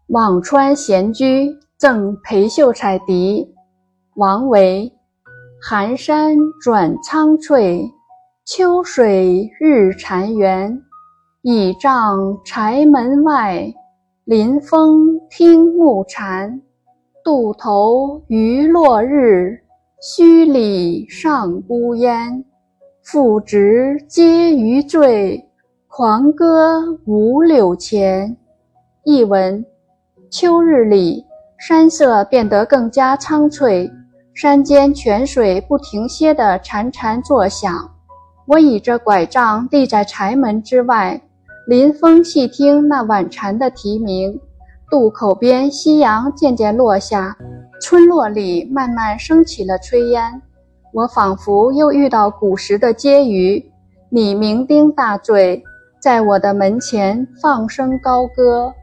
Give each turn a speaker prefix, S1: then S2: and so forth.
S1: 辋川闲居赠裴秀才笛。王维。寒山转苍翠，秋水日潺湲。倚杖柴门外，临风听暮蝉。渡头余落日，墟里上孤烟。复值皆余醉，狂歌五柳前。译文：秋日里，山色变得更加苍翠，山间泉水不停歇地潺潺作响。我倚着拐杖立在柴门之外，临风细听那晚蝉的啼鸣。渡口边夕阳渐渐落下，村落里慢慢升起了炊烟。我仿佛又遇到古时的婕妤，你酩酊大醉，在我的门前放声高歌。